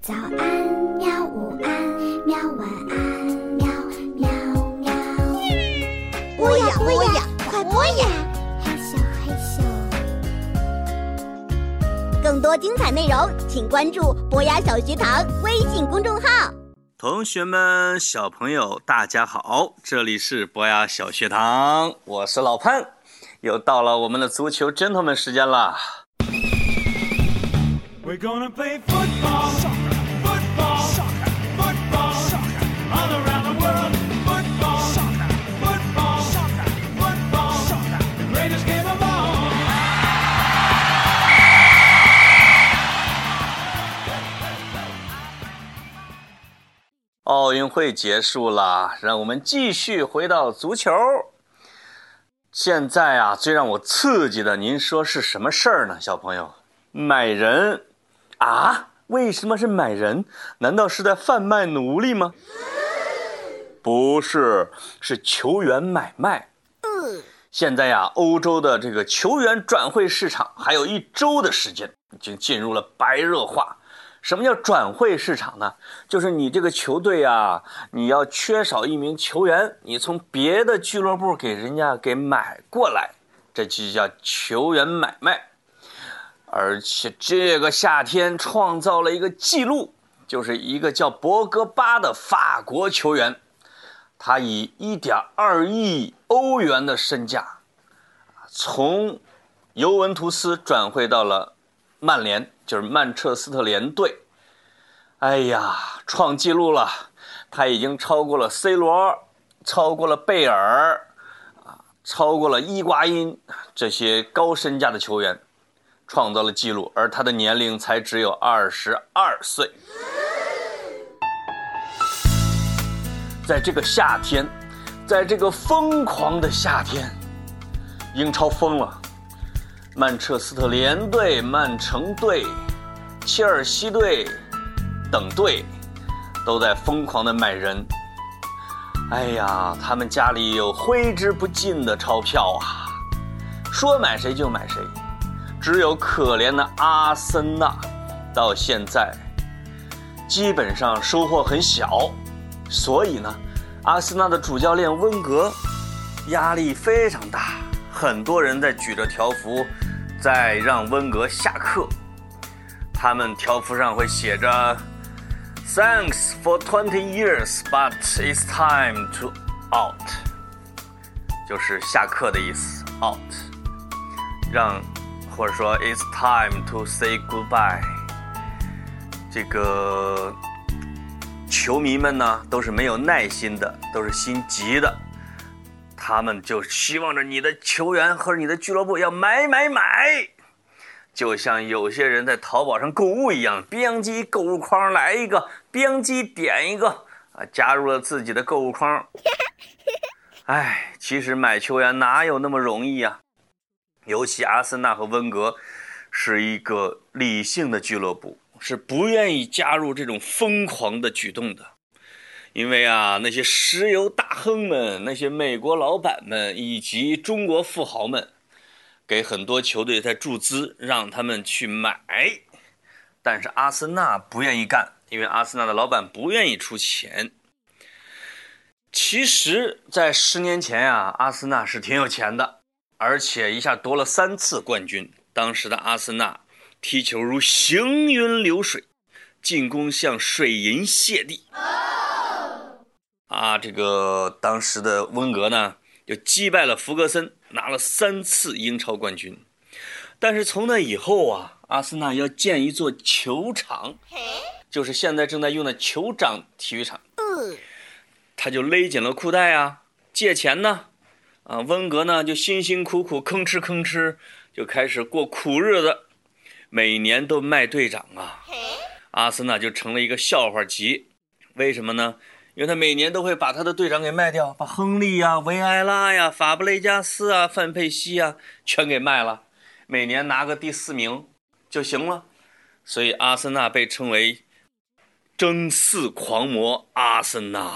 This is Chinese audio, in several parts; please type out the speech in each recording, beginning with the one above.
早安喵，午安喵，晚安喵喵喵。 播呀播呀，快播呀！ 害羞害羞。 更多精彩内容，请关注博雅小学堂微信公众号。 同学们、小朋友，大家好，这里是博雅小学堂，我是老潘，又到了我们的足球 gentleman 时间了。 We're gonna play football, football, football, all around the world. Football, football, football, the greatest game of all. 奥运会结束了，让我们继续回到足球。现在啊，最让我刺激的，您说是什么事儿呢，小朋友？买人啊？为什么是买人？难道是在贩卖奴隶吗？不是，是球员买卖。现在呀，欧洲的这个球员转会市场还有1周的时间，已经进入了白热化。什么叫转会市场呢？就是你这个球队啊，你要缺少一名球员，你从别的俱乐部给人家给买过来，这就叫球员买卖。而且这个夏天创造了一个记录，就是一个叫博格巴的法国球员，他以1.2亿欧元的身价，从尤文图斯转会到了曼联，就是曼彻斯特联队。哎呀，创纪录了，他已经超过了 C 罗，超过了贝尔，超过了伊瓜因这些高身价的球员，创造了纪录，而他的年龄才只有22岁。在这个夏天，在这个疯狂的夏天，英超疯了，曼彻斯特联队、曼城队、切尔西队等队都在疯狂的买人。哎呀，他们家里有挥之不尽的钞票啊，说买谁就买谁。只有可怜的阿森纳到现在基本上收获很小，所以呢，阿森纳的主教练温格压力非常大，很多人在举着条幅在让温格下课。他们条幅上会写着 Thanks for 20 years, but it's time to out， 就是下课的意思 out， 或者说 it's time to say goodbye。 这个球迷们呢都是没有耐心的，都是心急的，他们就希望着你的球员和你的俱乐部要买，就像有些人在淘宝上购物一样，编辑购物筐来一个，编辑点一个加入了自己的购物筐。哎，其实买球员哪有那么容易啊？尤其阿森纳和温格是一个理性的俱乐部，是不愿意加入这种疯狂的举动的。因为啊，那些石油大亨们，那些美国老板们以及中国富豪们给很多球队在注资，让他们去买，但是阿森纳不愿意干，因为阿森纳的老板不愿意出钱。其实在10年前啊，阿森纳是挺有钱的，而且一下夺了3次冠军。当时的阿森纳踢球如行云流水，进攻像水银泻地。这个当时的温格呢，就击败了弗格森，拿了3次英超冠军。但是从那以后啊，阿森纳要建一座球场，就是现在正在用的酋长体育场。他就勒紧了裤带啊，借钱呢。温格呢就辛辛苦苦吭哧就开始过苦日子，每年都卖队长啊。阿森纳就成了一个笑话集。为什么呢？因为他每年都会把他的队长给卖掉，把亨利啊、维埃拉呀、法布雷加斯啊、范佩西啊全给卖了，每年拿个第4名就行了。所以阿森纳被称为争4狂魔阿森纳。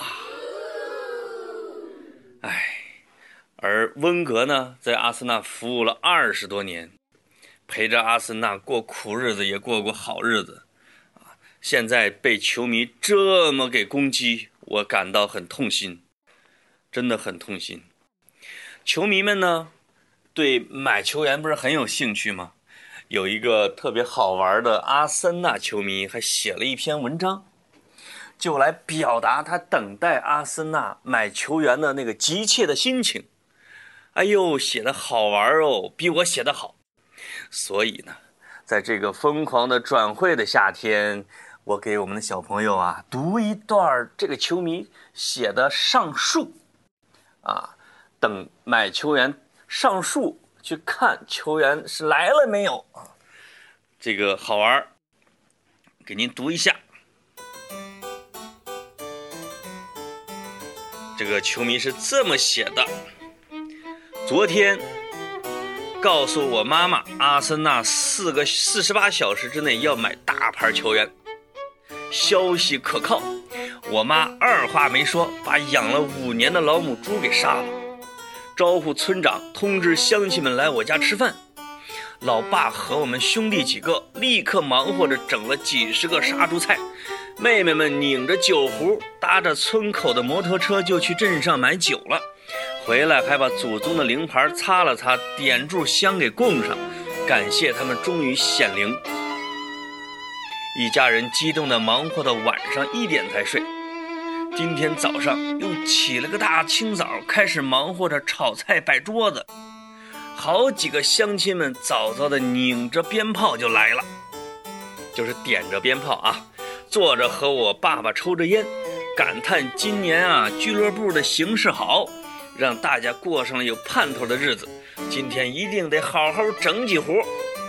而温格呢，在阿森纳服务了20多年，陪着阿森纳过苦日子也过过好日子。 现在被球迷这么给攻击，我感到很痛心，真的很痛心。球迷们呢，对买球员不是很有兴趣吗？有一个特别好玩的阿森纳球迷还写了一篇文章，就来表达他等待阿森纳买球员的那个急切的心情。哎呦，写得好玩哦，比我写得好。所以呢，在这个疯狂的转会的夏天，我给我们的小朋友啊读一段这个球迷写的上述啊，等买球员上述去看球员是来了没有啊，这个好玩，给您读一下。这个球迷是这么写的：昨天告诉我妈妈，阿森纳48小时之内要买大牌球员，消息可靠。我妈二话没说，把养了5年的老母猪给杀了，招呼村长通知乡亲们来我家吃饭。老爸和我们兄弟几个立刻忙活着整了几十个杀猪菜，妹妹们拧着酒壶，搭着村口的摩托车就去镇上买酒了。回来还把祖宗的灵牌擦了擦，点炷香给供上，感谢他们终于显灵。一家人激动地忙活到晚上1点才睡。今天早上又起了个大清早，开始忙活着炒菜摆桌子。好几个乡亲们早早的拧着鞭炮就来了，就是点着鞭炮啊，坐着和我爸爸抽着烟，感叹今年啊俱乐部的形势好，让大家过上了有盼头的日子，今天一定得好好整几壶。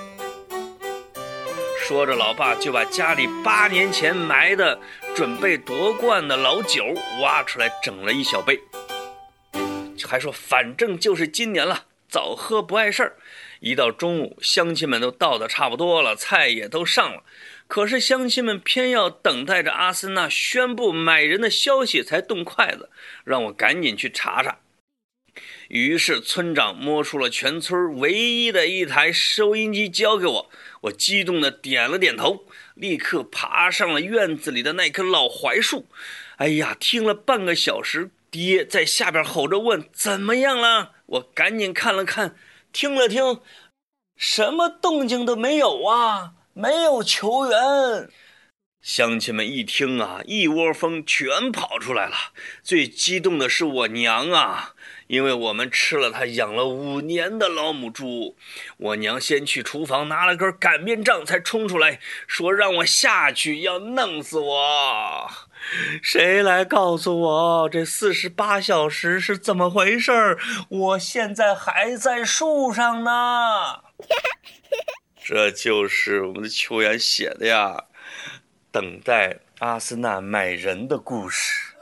说着，老爸就把家里8年前埋的准备夺冠的老酒挖出来整了一小杯，还说反正就是今年了，早喝不碍事儿。一到中午，乡亲们都到得差不多了，菜也都上了，可是乡亲们偏要等待着阿森纳宣布买人的消息才动筷子，让我赶紧去查查。于是村长摸出了全村唯一的一台收音机交给我，我激动地点了点头，立刻爬上了院子里的那棵老槐树。哎呀，听了半个小时，爹在下边吼着问怎么样了，我赶紧看了看，听了听，什么动静都没有啊，没有球员。乡亲们一听啊，一窝蜂全跑出来了。最激动的是我娘啊，因为我们吃了她养了5年的老母猪。我娘先去厨房拿了根擀面杖才冲出来，说让我下去要弄死我。谁来告诉我这48小时是怎么回事？我现在还在树上呢。这就是我们的球员写的呀，等待阿森纳买人的故事。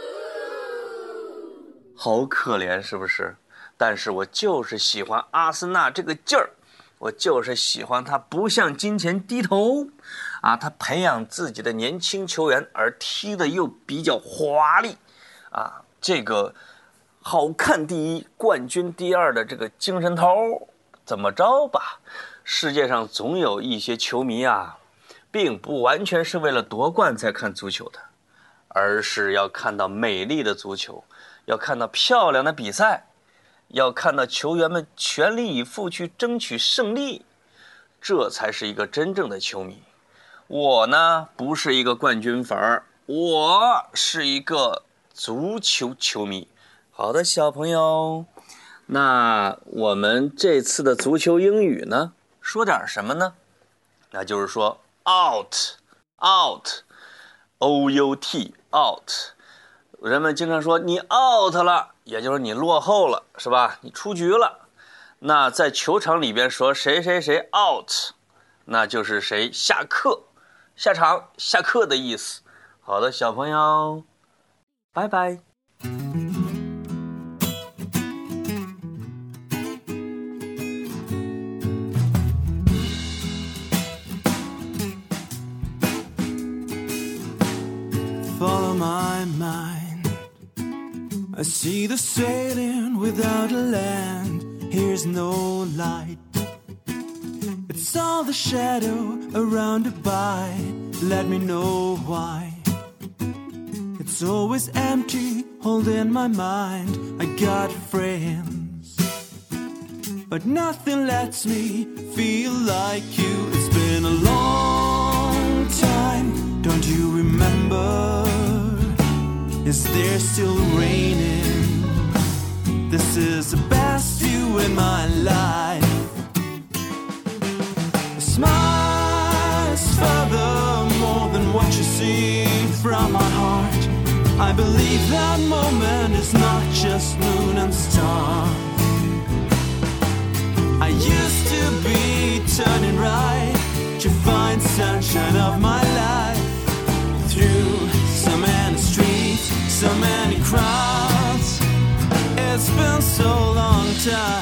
好可怜是不是？但是我就是喜欢阿森纳这个劲儿，我就是喜欢他不向金钱低头啊，他培养自己的年轻球员，而踢的又比较华丽啊，这个好看第一，冠军第2的这个精神头，怎么着吧？世界上总有一些球迷啊，并不完全是为了夺冠才看足球的，而是要看到美丽的足球，要看到漂亮的比赛，要看到球员们全力以赴去争取胜利，这才是一个真正的球迷。我呢，不是一个冠军粉儿，我是一个足球球迷。好的，小朋友，那我们这次的足球英语呢，说点什么呢？那就是说 out O-U-T out， 人们经常说你 out 了，也就是你落后了，是吧？你出局了。那在球场里边说谁谁谁 out， 那就是谁下课、下场、下课的意思。好的，小朋友，拜拜。 Follow my mind, I see the sailing without a land. Here's no light, it's all the shadow around a by let me know why. It's always empty, holding my mind. I got friends, but nothing lets me feel like you. It's been a long time, don't you remember? Is there still raining? This is the best view in my life. A smile is further more than what you see from my heart. I believe that moment is not just moon and stars. I used to be turning right to find sunshine of my life. Through so many streets, so many crowds, it's been so long time.